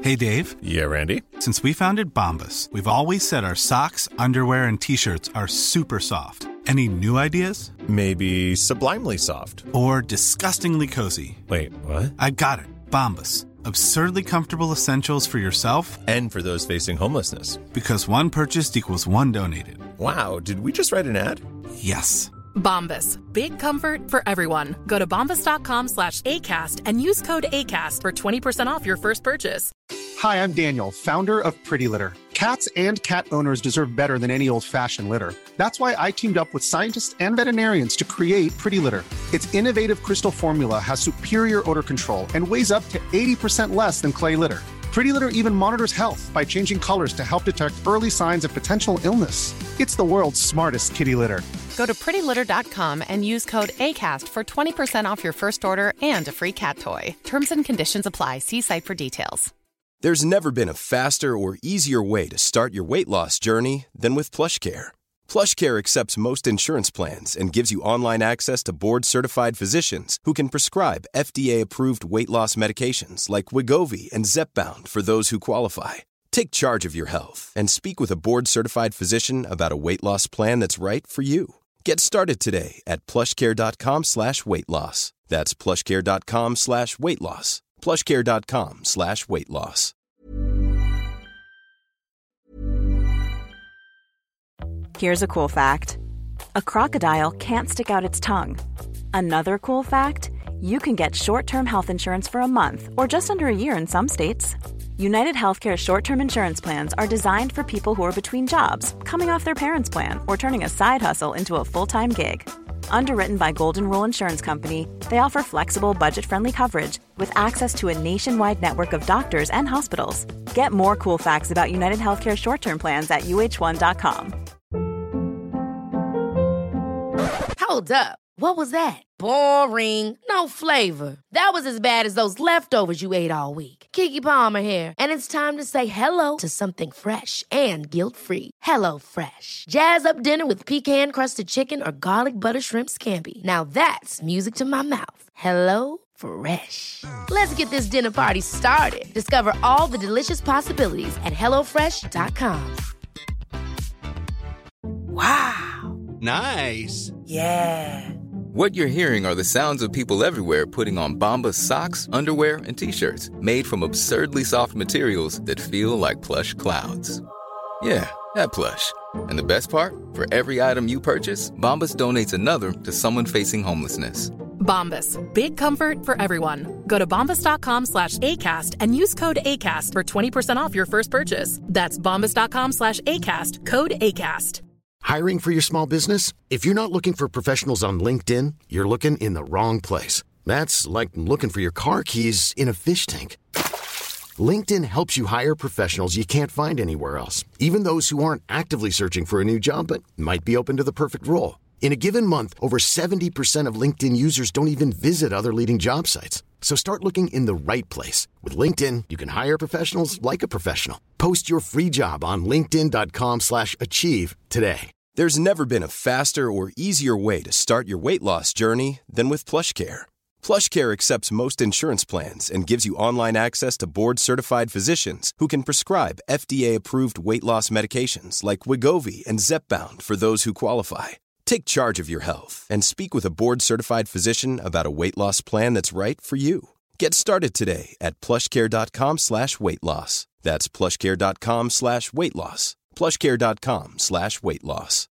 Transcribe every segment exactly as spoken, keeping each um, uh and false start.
Hey, Dave. Yeah, Randy. Since we founded Bombas, we've always said our socks, underwear, and T-shirts are super soft. Any new ideas? Maybe sublimely soft. Or disgustingly cozy. Wait, what? I got it. Bombas. Absurdly comfortable essentials for yourself and for those facing homelessness. Because one purchased equals one donated. Wow, did we just write an ad? Yes. Bombas. Big comfort for everyone. Go to bombas.com slash ACAST and use code ACAST for twenty percent off your first purchase. Hi, I'm Daniel, founder of Pretty Litter. Cats and cat owners deserve better than any old-fashioned litter. That's why I teamed up with scientists and veterinarians to create Pretty Litter. Its innovative crystal formula has superior odor control and weighs up to eighty percent less than clay litter. Pretty Litter even monitors health by changing colors to help detect early signs of potential illness. It's the world's smartest kitty litter. Go to pretty litter dot com and use code ACAST for twenty percent off your first order and a free cat toy. Terms and conditions apply. See site for details. There's never been a faster or easier way to start your weight loss journey than with PlushCare. PlushCare accepts most insurance plans and gives you online access to board-certified physicians who can prescribe F D A-approved weight loss medications like Wegovy and Zepbound for those who qualify. Take charge of your health and speak with a board-certified physician about a weight loss plan that's right for you. Get started today at plushcare.com slash weight loss. That's plushcare.com slash weight loss. plushcare.com slash weight loss. Here's a cool fact. A crocodile can't stick out its tongue. Another cool fact, you can get short-term health insurance for a month or just under a year in some states. United Healthcare short-term insurance plans are designed for people who are between jobs, coming off their parents' plan, or turning a side hustle into a full-time gig. Underwritten by Golden Rule Insurance Company, they offer flexible, budget-friendly coverage with access to a nationwide network of doctors and hospitals. Get more cool facts about United Healthcare short-term plans at U H one dot com. Hold up. What was that? Boring. No flavor. That was as bad as those leftovers you ate all week. Keke Palmer here, and it's time to say hello to something fresh and guilt-free. Hello Fresh. Jazz up dinner with pecan-crusted chicken or garlic butter shrimp scampi. Now that's music to my mouth. Hello Fresh. Let's get this dinner party started. Discover all the delicious possibilities at hello fresh dot com. Wow. Nice. Yeah. What you're hearing are the sounds of people everywhere putting on Bombas socks, underwear, and T-shirts made from absurdly soft materials that feel like plush clouds. Yeah, that plush. And the best part? For every item you purchase, Bombas donates another to someone facing homelessness. Bombas. Big comfort for everyone. Go to bombas.com slash ACAST and use code ACAST for twenty percent off your first purchase. That's bombas.com slash ACAST. Code ACAST. Hiring for your small business? If you're not looking for professionals on LinkedIn, you're looking in the wrong place. That's like looking for your car keys in a fish tank. LinkedIn helps you hire professionals you can't find anywhere else, even those who aren't actively searching for a new job but might be open to the perfect role. In a given month, over seventy percent of LinkedIn users don't even visit other leading job sites. So start looking in the right place. With LinkedIn, you can hire professionals like a professional. Post your free job on linkedin.com slash achieve today. There's never been a faster or easier way to start your weight loss journey than with PlushCare. PlushCare accepts most insurance plans and gives you online access to board-certified physicians who can prescribe F D A-approved weight loss medications like Wegovy and Zepbound for those who qualify. Take charge of your health and speak with a board-certified physician about a weight loss plan that's right for you. Get started today at plushcare.com slash weight loss. That's plushcare.com slash weight loss. plushcare.com slash weight loss.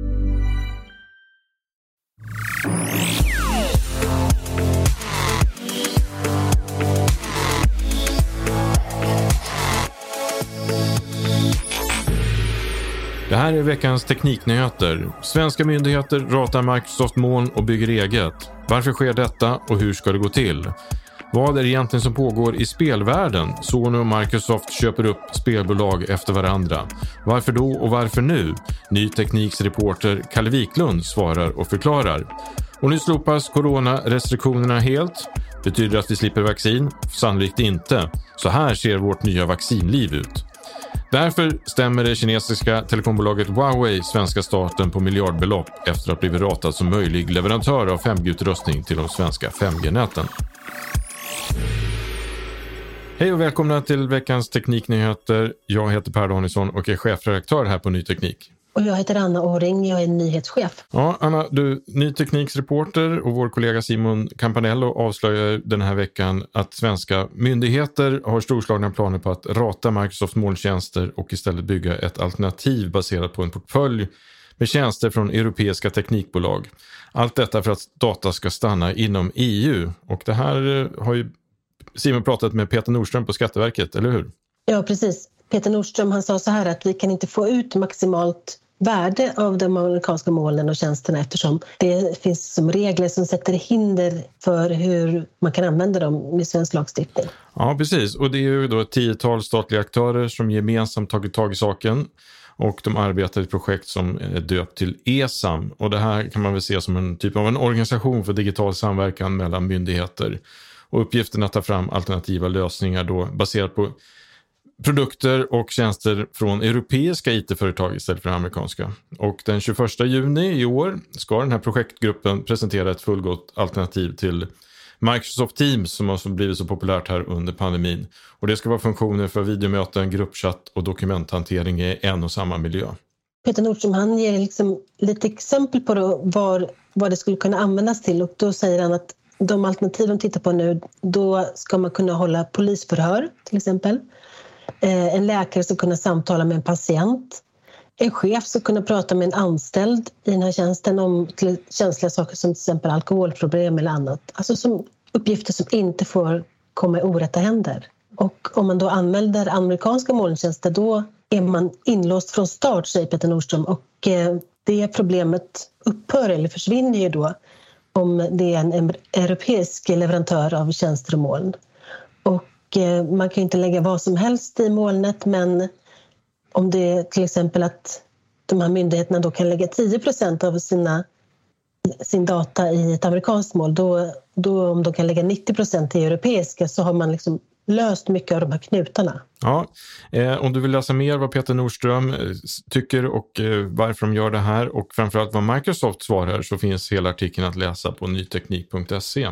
Det här är veckans tekniknyheter. Svenska myndigheter ratar Microsoft moln och bygger eget. Varför sker detta och hur ska det gå till? Vad är det egentligen som pågår i spelvärlden? Sony och Microsoft köper upp spelbolag efter varandra. Varför då och varför nu? Ny Tekniks reporter Kalle Wiklund svarar och förklarar. Och nu slopas coronarestriktionerna helt. Betyder det att vi slipper vaccin? Sannolikt inte. Så här ser vårt nya vaccinliv ut. Därför stämmer det kinesiska telekombolaget Huawei svenska staten på miljardbelopp efter att ha blivit ratad som möjlig leverantör av fem G-utrustning till de svenska fem G-näten. Hej och välkomna till veckans tekniknyheter. Jag heter Per Danielsson och är chefredaktör här på Ny Teknik. Och jag heter Anna Åring, jag är nyhetschef. Ja, Anna, du, Ny Tekniks reporter och vår kollega Simon Campanello avslöjar den här veckan att svenska myndigheter har storslagna planer på att rata Microsoft molntjänster och istället bygga ett alternativ baserat på en portfölj med tjänster från europeiska teknikbolag. Allt detta för att data ska stanna inom E U. Och det här har ju Simon pratat med Peter Nordström på Skatteverket, eller hur? Ja, precis. Peter Nordström han sa så här att vi kan inte få ut maximalt värde av de amerikanska molnen och tjänsterna eftersom det finns som regler som sätter hinder för hur man kan använda dem med svensk lagstiftning. Ja, precis. Och det är ju då ett tiotal statliga aktörer som gemensamt tagit tag i saken. Och de arbetar i ett projekt som är döpt till E S A M. Och det här kan man väl se som en typ av en organisation för digital samverkan mellan myndigheter. Och uppgiften att ta fram alternativa lösningar då baserat på produkter och tjänster från europeiska I T-företag istället för amerikanska. Och den tjugoförsta juni i år ska den här projektgruppen presentera ett fullgott alternativ till Microsoft Teams som har blivit så populärt här under pandemin. Och det ska vara funktioner för videomöten, gruppchatt och dokumenthantering i en och samma miljö. Peter Nordström han ger liksom lite exempel på då var, vad det skulle kunna användas till och då säger han att de alternativ de tittar på nu, då ska man kunna hålla polisförhör till exempel. Eh, en läkare ska kunna samtala med en patient. En chef ska kunna prata med en anställd i den här tjänsten om till känsliga saker som till exempel alkoholproblem eller annat. Alltså som uppgifter som inte får komma i orätta händer. Och om man då använder amerikanska molntjänster då är man inlåst från start, säger Peter Nordström. Och eh, det problemet upphör eller försvinner ju då om det är en europeisk leverantör av tjänster och moln. Och eh, man kan ju inte lägga vad som helst i molnet, men om det är till exempel att de här myndigheterna då kan lägga tio procent av sina, sin data i ett amerikanskt moln, då, då om de kan lägga nittio procent i europeiska så har man liksom löst mycket av de här knutarna. Ja, eh, om du vill läsa mer vad Peter Nordström eh, tycker och eh, varför de gör det här och framförallt vad Microsoft svarar så finns hela artikeln att läsa på nyteknik punkt se.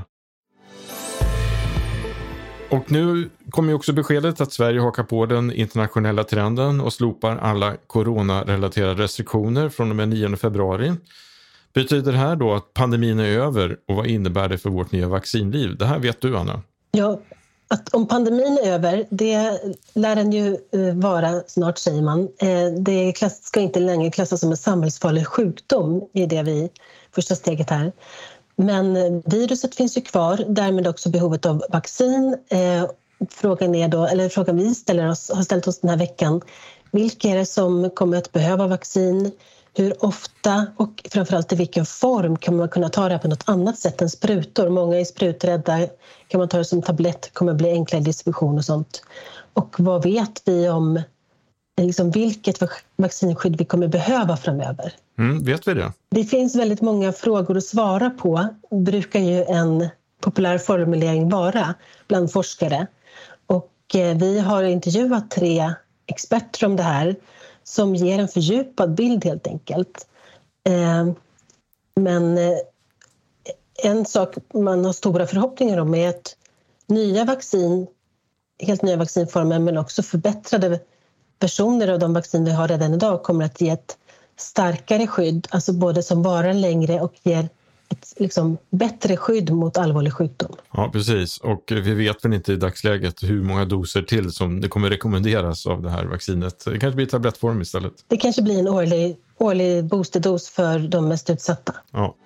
Och nu kommer ju också beskedet att Sverige hakar på den internationella trenden och slopar alla coronarelaterade restriktioner från och med nionde februari. Betyder det här då att pandemin är över och vad innebär det för vårt nya vaccinliv? Det här vet du, Anna. Ja, att om pandemin är över, det lär den ju vara snart, säger man. Det ska inte längre klassas som en samhällsfarlig sjukdom i det vi första steget här. Men viruset finns ju kvar, därmed också behovet av vaccin. Frågan är då, eller frågan vi ställer oss, har ställt oss den här veckan, vilka är det som kommer att behöva vaccin? Hur ofta och framförallt i vilken form kan man kunna ta det på något annat sätt än sprutor? Många är spruträdda, kan man ta det som tablett, kommer bli enklare distribution och sånt. Och vad vet vi om liksom, vilket vaccinskydd vi kommer behöva framöver? Mm, vet vi det? Det finns väldigt många frågor att svara på, brukar ju en populär formulering vara bland forskare. Och eh, vi har intervjuat tre experter om det här som ger en fördjupad bild helt enkelt. Eh, men eh, en sak man har stora förhoppningar om är att nya vaccin, helt nya vaccinformer men också förbättrade versioner av de vaccin vi har redan idag kommer att ge ett starkare skydd, alltså både som varar längre och ger ett liksom, bättre skydd mot allvarlig sjukdom. Ja, precis. Och vi vet väl inte i dagsläget hur många doser till som det kommer rekommenderas av det här vaccinet. Det kanske blir tablettform istället. Det kanske blir en årlig, årlig boosterdos för de mest utsatta. Ja.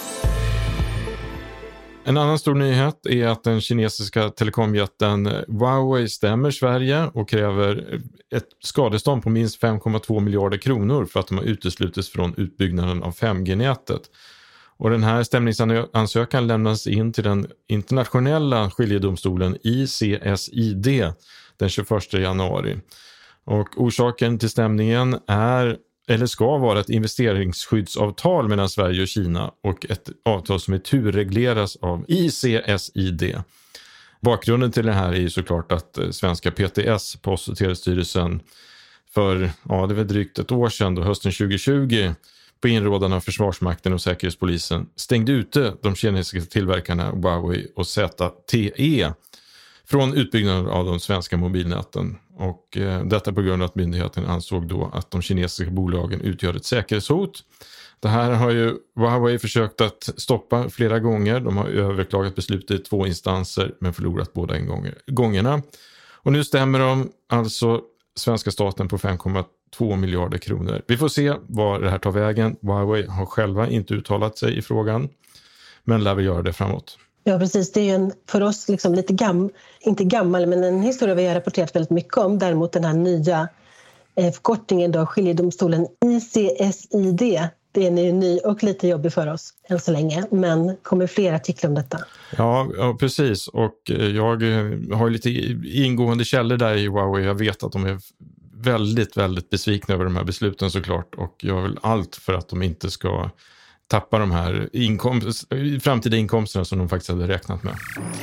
En annan stor nyhet är att den kinesiska telekomjätten Huawei stämmer Sverige och kräver ett skadestånd på minst fem komma två miljarder kronor för att de har uteslutits från utbyggnaden av fem G-nätet. Och den här stämningsansökan lämnas in till den internationella skiljedomstolen I C S I D den tjugoförsta januari. Och orsaken till stämningen är eller ska vara ett investeringsskyddsavtal mellan Sverige och Kina och ett avtal som är turregleras av I C S I D. Bakgrunden till det här är ju såklart att svenska P T S, Post- och telestyrelsen, för ja, det var drygt ett år sedan, då, hösten tjugohundratjugo, på inrådan av Försvarsmakten och Säkerhetspolisen stängde ute de kinesiska tillverkarna Huawei och Z T E från utbyggnaden av de svenska mobilnäten. Och eh, detta på grund av att myndigheten ansåg då att de kinesiska bolagen utgör ett säkerhetshot. Det här har ju Huawei försökt att stoppa flera gånger. De har överklagat beslutet i två instanser men förlorat båda gångerna. Och nu stämmer de alltså svenska staten på fem komma två miljarder kronor. Vi får se vad det här tar vägen. Huawei har själva inte uttalat sig i frågan, men lär vi göra det framåt. Ja, precis. Det är ju en, för oss liksom lite gam, inte gammal, men en historia vi har rapporterat väldigt mycket om. Däremot den här nya eh, förkortningen då, skiljedomstolen I C S I D. Det är ju ny och lite jobbig för oss än så länge, men kommer fler artiklar om detta. Ja, ja, precis. Och jag har lite ingående källor där i Huawei. Jag vet att de är väldigt, väldigt besvikna över de här besluten såklart. Och jag vill allt för att de inte ska tappa de här inkomst, framtida inkomsterna som de faktiskt hade räknat med.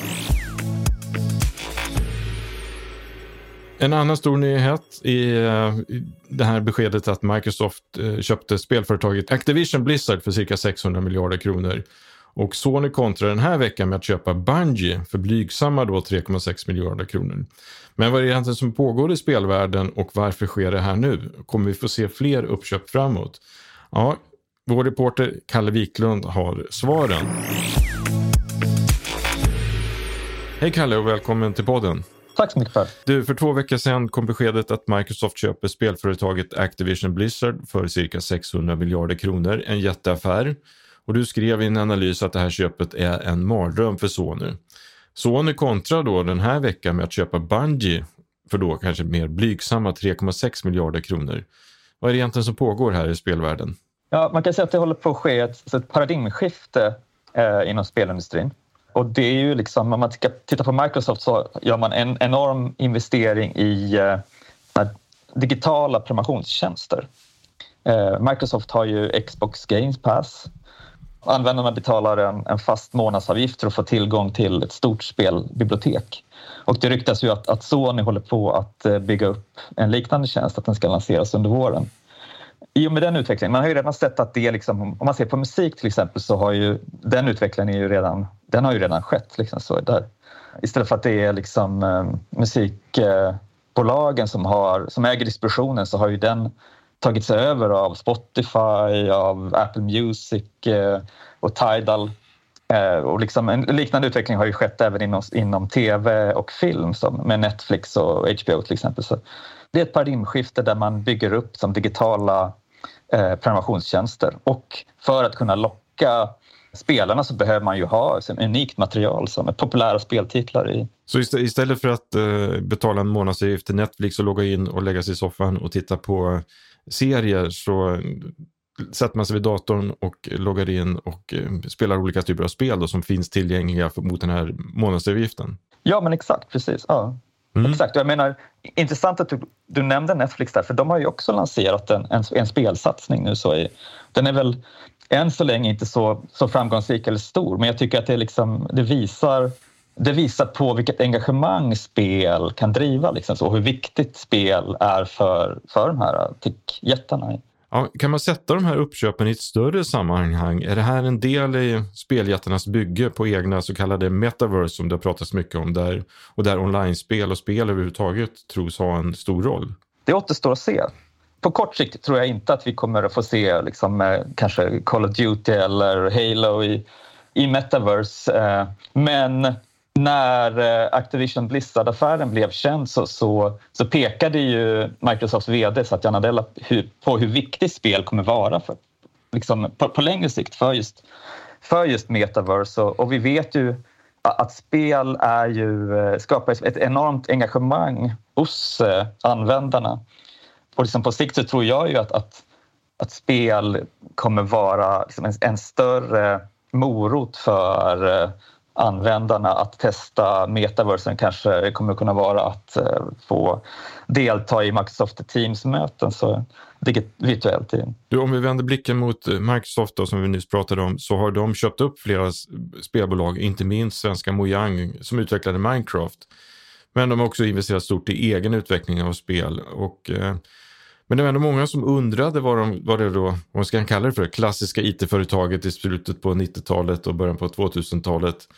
En annan stor nyhet är det här beskedet att Microsoft köpte spelföretaget Activision Blizzard för cirka sexhundra miljarder kronor. Och Sony kontrar den här veckan med att köpa Bungie för blygsamma då tre komma sex miljarder kronor. Men vad är det egentligen som pågår i spelvärlden och varför sker det här nu? Kommer vi få se fler uppköp framåt? Ja, vår reporter Kalle Wiklund har svaren. Hej Kalle och välkommen till podden. Tack så mycket Per. Du, för två veckor sedan kom beskedet att Microsoft köper spelföretaget Activision Blizzard för cirka sexhundra miljarder kronor. En jätteaffär. Och du skrev i en analys att det här köpet är en mardröm för Sony. Sony kontrar då den här veckan med att köpa Bungie för då kanske mer blygsamma tre komma sex miljarder kronor. Vad är det egentligen som pågår här i spelvärlden? Ja, man kan säga att det håller på att ske ett, ett paradigmskifte eh, inom spelindustrin. Och det är ju liksom, om man tittar på Microsoft så gör man en enorm investering i eh, digitala prenumerationstjänster. Eh, Microsoft har ju Xbox Game Pass. Användarna betalar en, en fast månadsavgift för att få tillgång till ett stort spelbibliotek. Och det ryktas ju att, att Sony håller på att eh, bygga upp en liknande tjänst, att den ska lanseras under våren. I och med den utvecklingen, man har ju redan sett att det liksom, om man ser på musik till exempel så har ju den utvecklingen är ju redan, den har ju redan skett liksom så där. Istället för att det är liksom eh, musikbolagen som har, som äger distributionen så har ju den tagit sig över av Spotify, av Apple Music eh, och Tidal. Eh, och liksom en liknande utveckling har ju skett även inom, inom tv och film som med Netflix och H B O till exempel. Så det är ett paradigmskifte där man bygger upp som digitala eh, prenumerationstjänster. Och för att kunna locka spelarna så behöver man ju ha som unikt material som är populära speltitlar i. Så istället för att eh, betala en månadsavgift till Netflix och logga in och lägga sig i soffan och titta på serier så sätter man sig vid datorn och loggar in och eh, spelar olika typer av spel då, som finns tillgängliga för, mot den här månadsavgiften. Ja, men exakt, precis. Ja. Mm. Exakt, jag menar, intressant att du, du nämnde Netflix där, för de har ju också lanserat en, en, en spelsatsning nu. Så i, den är väl än så länge inte så, så framgångsrik eller stor, men jag tycker att det, liksom, det, visar, det visar på vilket engagemang spel kan driva liksom, så, och hur viktigt spel är för, för de här tech-jättarna. Ja, kan man sätta de här uppköpen i ett större sammanhang? Är det här en del i speljättarnas bygge på egna så kallade metaverse som det har pratats mycket om där, och där online-spel och spel överhuvudtaget tros ha en stor roll? Det återstår att se. På kort sikt tror jag inte att vi kommer att få se liksom, kanske Call of Duty eller Halo i, i metaverse. Men när Activision Blizzard-affären blev känd så, så, så pekade ju Microsofts vd Satya Nadella hur, på hur viktigt spel kommer vara för, liksom, på, på längre sikt för just, för just metaverse. Och, och vi vet ju att, att spel är ju, skapar ett enormt engagemang hos eh, användarna. Och liksom på sikt så tror jag ju att, att, att spel kommer vara liksom en, en större morot för eh, användarna att testa metaversen. Kanske kommer kunna vara att eh, få delta i Microsoft Teams-möten så virtuellt. Du, om vi vänder blicken mot Microsoft då, som vi nyss pratade om, så har de köpt upp flera spelbolag, inte minst svenska Mojang som utvecklade Minecraft. Men de har också investerat stort i egen utveckling av spel. Och, eh, men det var ändå många som undrade vad, de, vad det då, vad ska man kalla det för, klassiska I T-företaget i slutet på nittiotalet och början på tvåtusentalet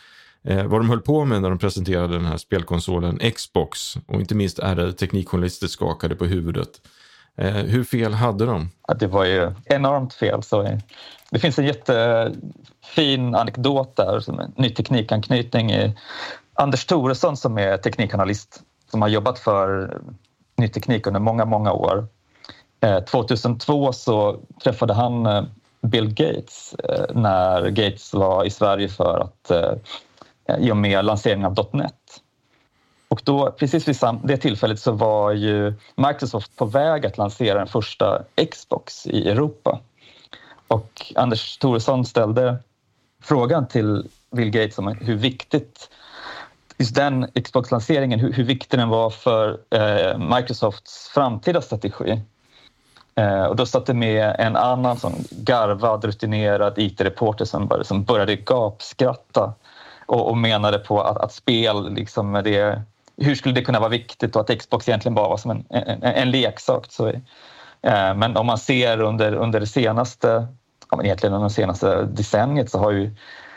eh, vad de höll på med när de presenterade den här spelkonsolen Xbox. Och inte minst ärade teknikjournalister skakade på huvudet. Eh, hur fel hade de? Ja, det var ju enormt fel. Så det finns en jättefin anekdot där, som en ny teknikanknytning i Anders Thoresson som är teknikanalyst som har jobbat för ny teknik under många, många år. Eh, tjugohundratvå så träffade han eh, Bill Gates eh, när Gates var i Sverige för att eh, i och med lanseringen av .net. Och då, precis vid sam- det tillfället så var ju Microsoft på väg att lansera den första Xbox i Europa. Och Anders Thoresson ställde frågan till Bill Gates om hur viktigt just den Xbox-lanseringen, hur, hur viktig den var för eh, Microsofts framtida strategi. Eh, och då satt det med en annan sån garvad, rutinerad I T-reporter som, bara, som började gapskratta och, och menade på att, att spel, liksom, det, hur skulle det kunna vara viktigt och att Xbox egentligen bara var som en, en, en leksak. Så, eh, men om man ser under, under det senaste, ja, men egentligen under det senaste decenniet så har ju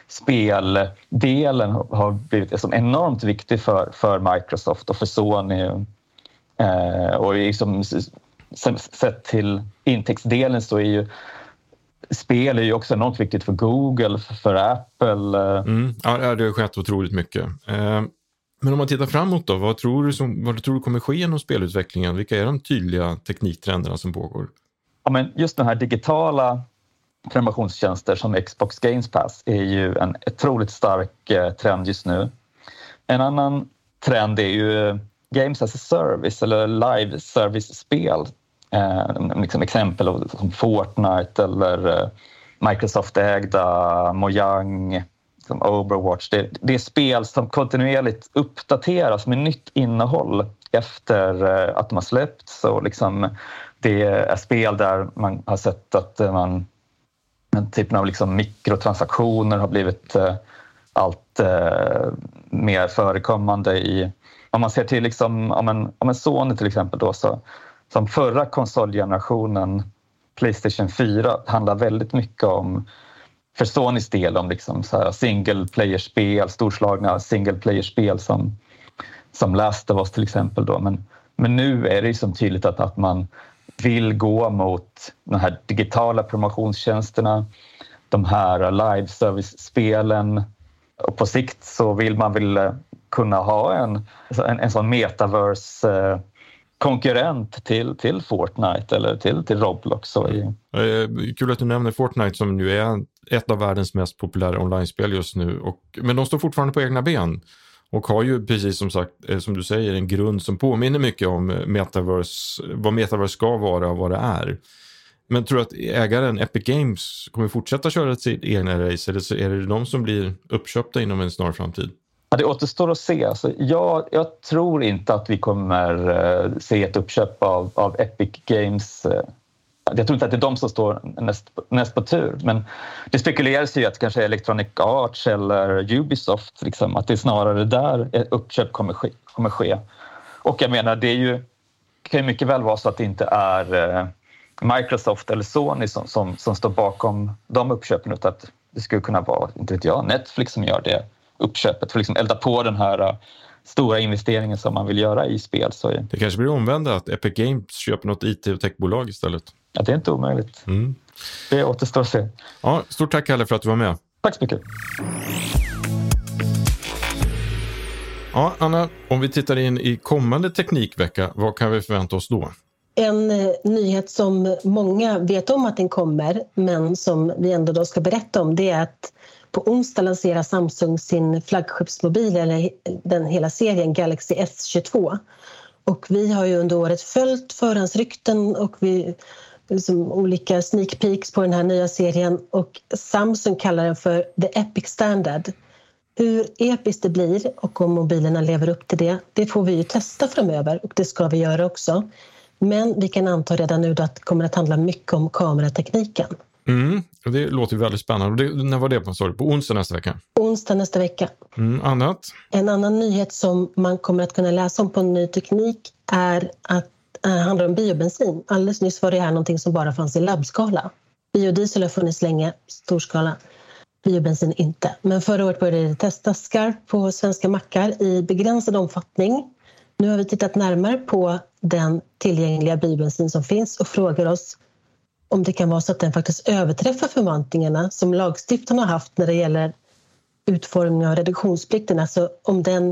speldelen har blivit som enormt viktig för, för Microsoft och för Sony. Eh, och liksom, sett till intäktsdelen så är ju spel är ju också enormt viktigt för Google, för, för Apple. Mm. Ja, det har skett otroligt mycket. Eh, men om man tittar framåt då, vad tror du, som, vad tror du kommer ske genom spelutvecklingen? Vilka är de tydliga tekniktrenderna som pågår? Ja, men just de här digitala prenumerationstjänster som Xbox Games Pass är ju en otroligt stark eh, trend just nu. En annan trend är ju Games as a Service eller live service-spel. Eh, liksom exempel som Fortnite eller eh, Microsoft-ägda Mojang, som Overwatch. Det, det är spel som kontinuerligt uppdateras med nytt innehåll efter eh, att de har släppts. Så liksom, det är spel där man har sett att man den typen av liksom mikrotransaktioner har blivit eh, allt eh, mer förekommande i, om man ser till liksom, om en, om en Sony till exempel då, så som förra konsolgenerationen PlayStation fyra handlar väldigt mycket om, för Sonys del, om liksom så här single player-spel, storslagna single player-spel som, som Last of Us till exempel då, men, men nu är det ju som tydligt att, att man vill gå mot de här digitala promotionstjänsterna, de här live service-spelen, och på sikt så vill man väl kunna ha en, en, en sån metaverse konkurrent till, till Fortnite eller till, till Roblox. Så i... Kul att du nämner Fortnite som nu är ett av världens mest populära online-spel just nu, och, men de står fortfarande på egna ben. Och har ju precis som sagt, som du säger, en grund som påminner mycket om metaverse, vad metaverse ska vara och vad det är. Men tror du att ägaren Epic Games kommer fortsätta köra sitt egna race, eller så är det de som blir uppköpta inom en snar framtid? Ja, det återstår att se. Alltså, jag, jag tror inte att vi kommer uh, se ett uppköp av, av Epic Games. Uh, jag tror inte att det är de som står näst, näst på tur. Men det spekuleras ju att kanske Electronic Arts eller Ubisoft, liksom, att det är snarare där ett uppköp kommer ske. Kommer ske. Och jag menar, det är ju, kan ju mycket väl vara så att det inte är uh, Microsoft eller Sony som, som, som står bakom de uppköpen, utan att det skulle kunna vara, inte vet jag, Netflix som gör det uppköpet för att liksom elda på den här uh, stora investeringen som man vill göra i spel. Så är... Det kanske blir omvända att Epic Games köper något I T- och techbolag istället. Ja, det är inte omöjligt. Mm. Det återstår att se. Ja, stort tack Kalle för att du var med. Tack så mycket. Ja, Anna, om vi tittar in i kommande teknikvecka, vad kan vi förvänta oss då? En eh, nyhet som många vet om att den kommer, men som vi ändå då ska berätta om, det är att på onsdag lanserar Samsung sin flaggskeppsmobil, eller den hela serien Galaxy S tjugotvå. Och vi har ju under året följt förhandsrykten och vi, liksom, olika sneak peeks på den här nya serien. Och Samsung kallar den för The Epic Standard. Hur episkt det blir och om mobilerna lever upp till det, det får vi ju testa framöver, och det ska vi göra också. Men vi kan anta redan nu att det kommer att handla mycket om kameratekniken. Mm, och det låter ju väldigt spännande. Det, när var det på, sorry, på onsdag nästa vecka? Onsdag nästa vecka. Mm, annat? En annan nyhet som man kommer att kunna läsa om på Ny Teknik är att det äh, handlar om biobensin. Alldeles nyss var det här någonting som bara fanns i labbskala. Biodiesel har funnits länge, storskala. biobensin inte. Men förra året började det testas skarpt på svenska mackar i begränsad omfattning. Nu har vi tittat närmare på den tillgängliga biobensin som finns och frågar oss om det kan vara så att den faktiskt överträffar förväntningarna som lagstiftarna har haft när det gäller utformning av reduktionsplikten. Alltså om den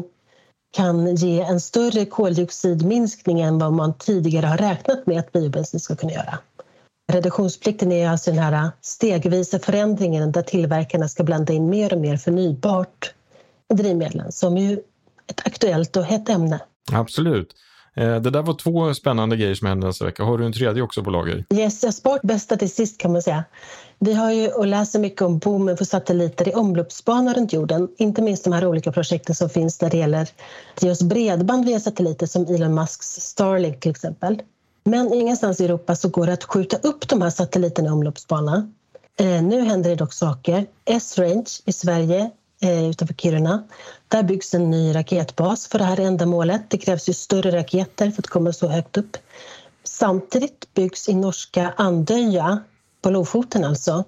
kan ge en större koldioxidminskning än vad man tidigare har räknat med att biobensin ska kunna göra. Reduktionsplikten är alltså den här stegvisa förändringen där tillverkarna ska blanda in mer och mer förnybart drivmedel som är ju ett aktuellt och hett ämne. Absolut. Det där var två spännande grejer som hände nästa vecka. Har du en tredje också på lager? Yes, jag har sparat bästa till sist kan man säga. Vi har ju och läser mycket om boomen för satelliter i omloppsbanor runt jorden. Inte minst de här olika projekten som finns när det gäller att ge oss bredband via satelliter som Elon Musks Starlink till exempel. Men ingenstans i Europa så går det att skjuta upp de här satelliterna i omloppsbana. Eh, nu händer det dock saker. S-Range i Sverige eh, utanför Kiruna. Där byggs en ny raketbas för det här ändamålet. Det krävs ju större raketer för att komma så högt upp. Samtidigt byggs i norska Andøya, på Lofoten alltså,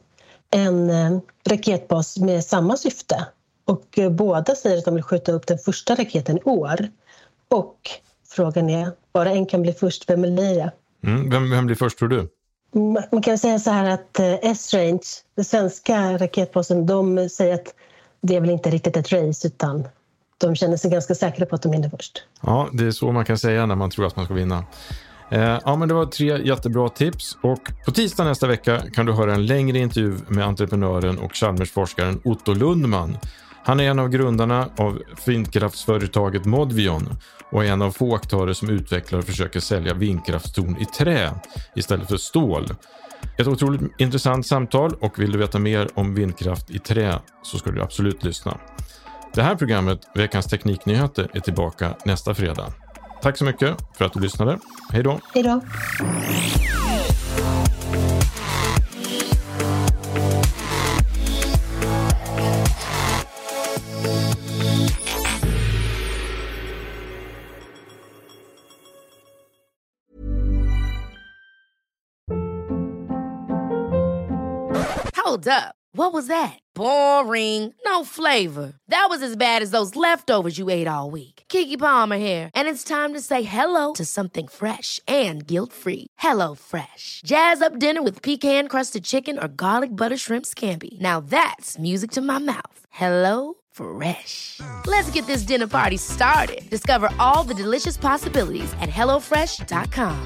en eh, raketbas med samma syfte. Och eh, båda säger att de vill skjuta upp den första raketen i år. Och frågan är, bara en kan bli först, vem blir det? Mm, vem, vem blir först tror du? Man kan säga så här att eh, S-Range, den svenska raketbasen, de säger att det är väl inte riktigt ett race utan de känner sig ganska säkra på att de vinner först. Ja, det är så man kan säga när man tror att man ska vinna. Eh, ja, men det var tre jättebra tips och på tisdag nästa vecka kan du höra en längre intervju med entreprenören och Chalmers-forskaren Otto Lundman. Han är en av grundarna av vindkraftsföretaget Modvion och är en av få aktörer som utvecklar och försöker sälja vindkraftstorn i trä istället för stål. Ett otroligt intressant samtal och vill du veta mer om vindkraft i trä så ska du absolut lyssna. Det här programmet, Veckans Tekniknyheter, är tillbaka nästa fredag. Tack så mycket för att du lyssnade. Hej då! Hej då! Hold up. What was that? Boring. No flavor. That was as bad as those leftovers you ate all week. Keke Palmer here. And it's time to say hello to something fresh and guilt-free. Hello Fresh. Jazz up dinner with pecan-crusted chicken or garlic butter shrimp scampi. Now that's music to my mouth. Hello Fresh. Let's get this dinner party started. Discover all the delicious possibilities at hello fresh dot com.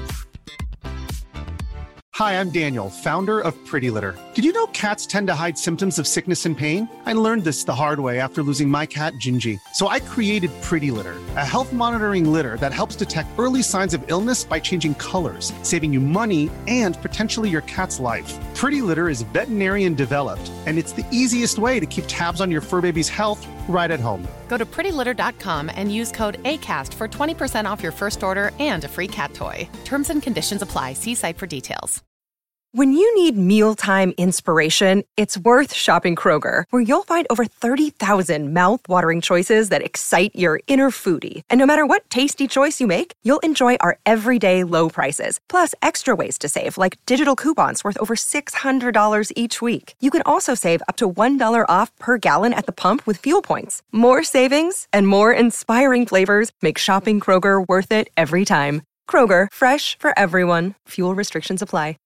Hi, I'm Daniel, founder of Pretty Litter. Did you know cats tend to hide symptoms of sickness and pain? I learned this the hard way after losing my cat, Gingy. So I created Pretty Litter, a health monitoring litter that helps detect early signs of illness by changing colors, saving you money and potentially your cat's life. Pretty Litter is veterinarian developed, and it's the easiest way to keep tabs on your fur baby's health right at home. Go to pretty litter dot com and use code ACAST for twenty percent off your first order and a free cat toy. Terms and conditions apply. See site for details. When you need mealtime inspiration, it's worth shopping Kroger, where you'll find over thirty thousand mouth-watering choices that excite your inner foodie. And no matter what tasty choice you make, you'll enjoy our everyday low prices, plus extra ways to save, like digital coupons worth over six hundred dollars each week. You can also save up to one dollar off per gallon at the pump with fuel points. More savings and more inspiring flavors make shopping Kroger worth it every time. Kroger, fresh for everyone. Fuel restrictions apply.